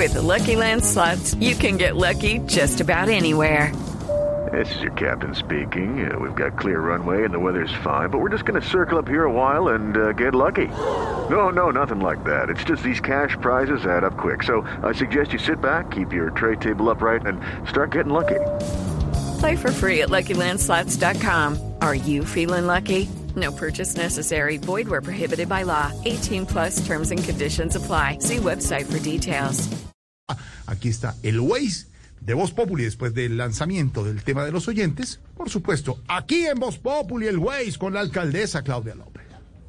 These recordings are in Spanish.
With the Lucky Land Slots, you can get lucky just about anywhere. This is your captain speaking. We've got clear runway and the weather's fine, but we're just going to circle up here a while and get lucky. No, nothing like that. It's just these cash prizes add up quick. So I suggest you sit back, keep your tray table upright, and start getting lucky. Play for free at LuckyLandSlots.com. Are you feeling lucky? No purchase necessary. Void where prohibited by law. 18 plus terms and conditions apply. See website for details. Aquí está el Waze de Voz Populi después del lanzamiento del tema de los oyentes. Por supuesto, aquí en Voz Populi el Waze con la alcaldesa Claudia López.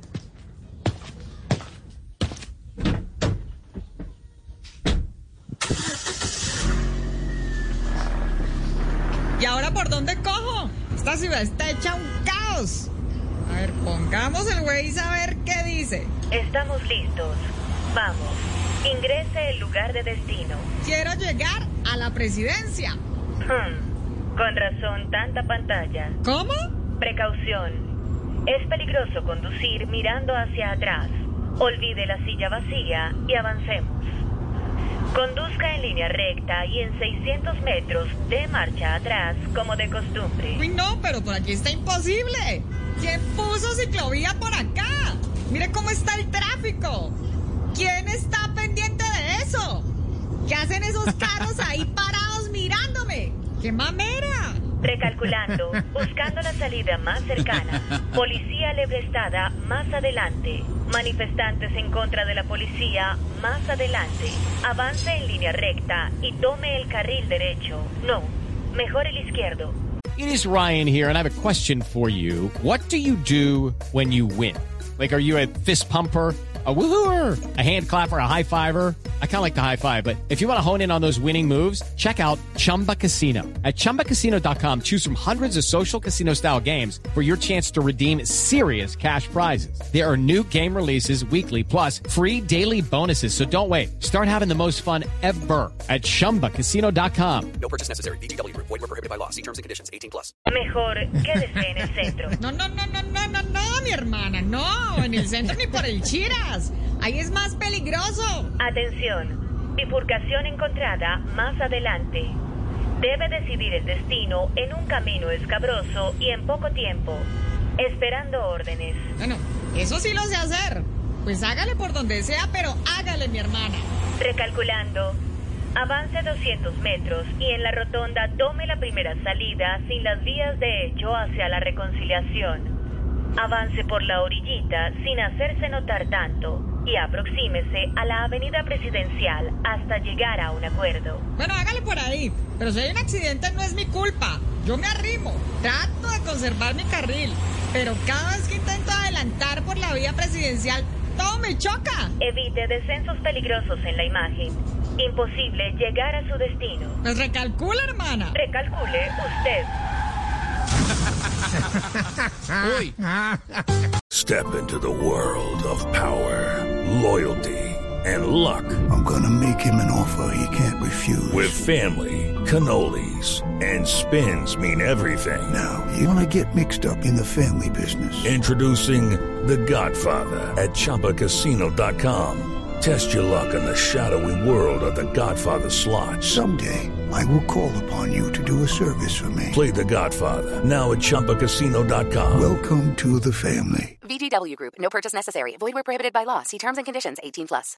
¿Y ahora por dónde cojo? Esta ciudad está hecha un caos. A ver, pongamos el Waze a ver qué dice. Estamos listos. Vamos. Ingrese el lugar de destino. Quiero llegar a la presidencia. Con razón, tanta pantalla. ¿Cómo? Precaución. Es peligroso conducir mirando hacia atrás. Olvide la silla vacía y avancemos. Conduzca en línea recta y en 600 metros de marcha atrás como de costumbre. Uy, no, pero por aquí está imposible. ¿Quién puso ciclovía por acá? Mire cómo está el tráfico. ¿Quién está pendiente de eso? ¿Qué hacen esos carros ahí parados mirándome? ¡Qué mamera! Recalculando, buscando la salida más cercana. Policía lebrestada más adelante. Manifestantes en contra de la policía más adelante. Avance en línea recta y tome el carril derecho. No, mejor el izquierdo. It is Ryan here, and I have a question for you. What do you do when you win? Like, are you a fist pumper? A woohooer, a hand clapper, a high fiver. I kind of like the high five, but if you want to hone in on those winning moves, check out Chumba Casino. At ChumbaCasino.com, choose from hundreds of social casino style games for your chance to redeem serious cash prizes. There are new game releases weekly, plus free daily bonuses. So don't wait. Start having the most fun ever at ChumbaCasino.com. No purchase necessary. VGW Group. Void where prohibited by law. See terms and conditions. 18 plus. Mejor quédese en el centro. No, mi hermana, no. En el centro ni por el Chiras. Ahí es más peligroso. Atención, bifurcación encontrada más adelante. Debe decidir el destino en un camino escabroso y en poco tiempo, esperando órdenes. Bueno, eso sí lo sé hacer. Pues hágale por donde sea, pero hágale, mi hermana. Recalculando, avance 200 metros y en la rotonda tome la primera salida sin las vías de hecho hacia la reconciliación. Avance por la orillita sin hacerse notar tanto y aproxímese a la avenida presidencial hasta llegar a un acuerdo. Bueno, hágale por ahí, pero si hay un accidente no es mi culpa. Yo me arrimo, trato de conservar mi carril, pero cada vez que intento adelantar por la vía presidencial, todo me choca. Evite descensos peligrosos en la imagen. Imposible llegar a su destino. Pues recalcula, hermana. Recalcule usted. Step into the world of power, loyalty, and luck. I'm gonna make him an offer he can't refuse. With family, cannolis, and spins mean everything. Now, you wanna get mixed up in the family business. Introducing The Godfather at ChumbaCasino.com. Test your luck in the shadowy world of The Godfather slot. Someday, I will call upon you to do a service for me. Play The Godfather, now at ChumbaCasino.com. Welcome to the family. VGW Group. No purchase necessary. Void where prohibited by law. See terms and conditions. 18 plus.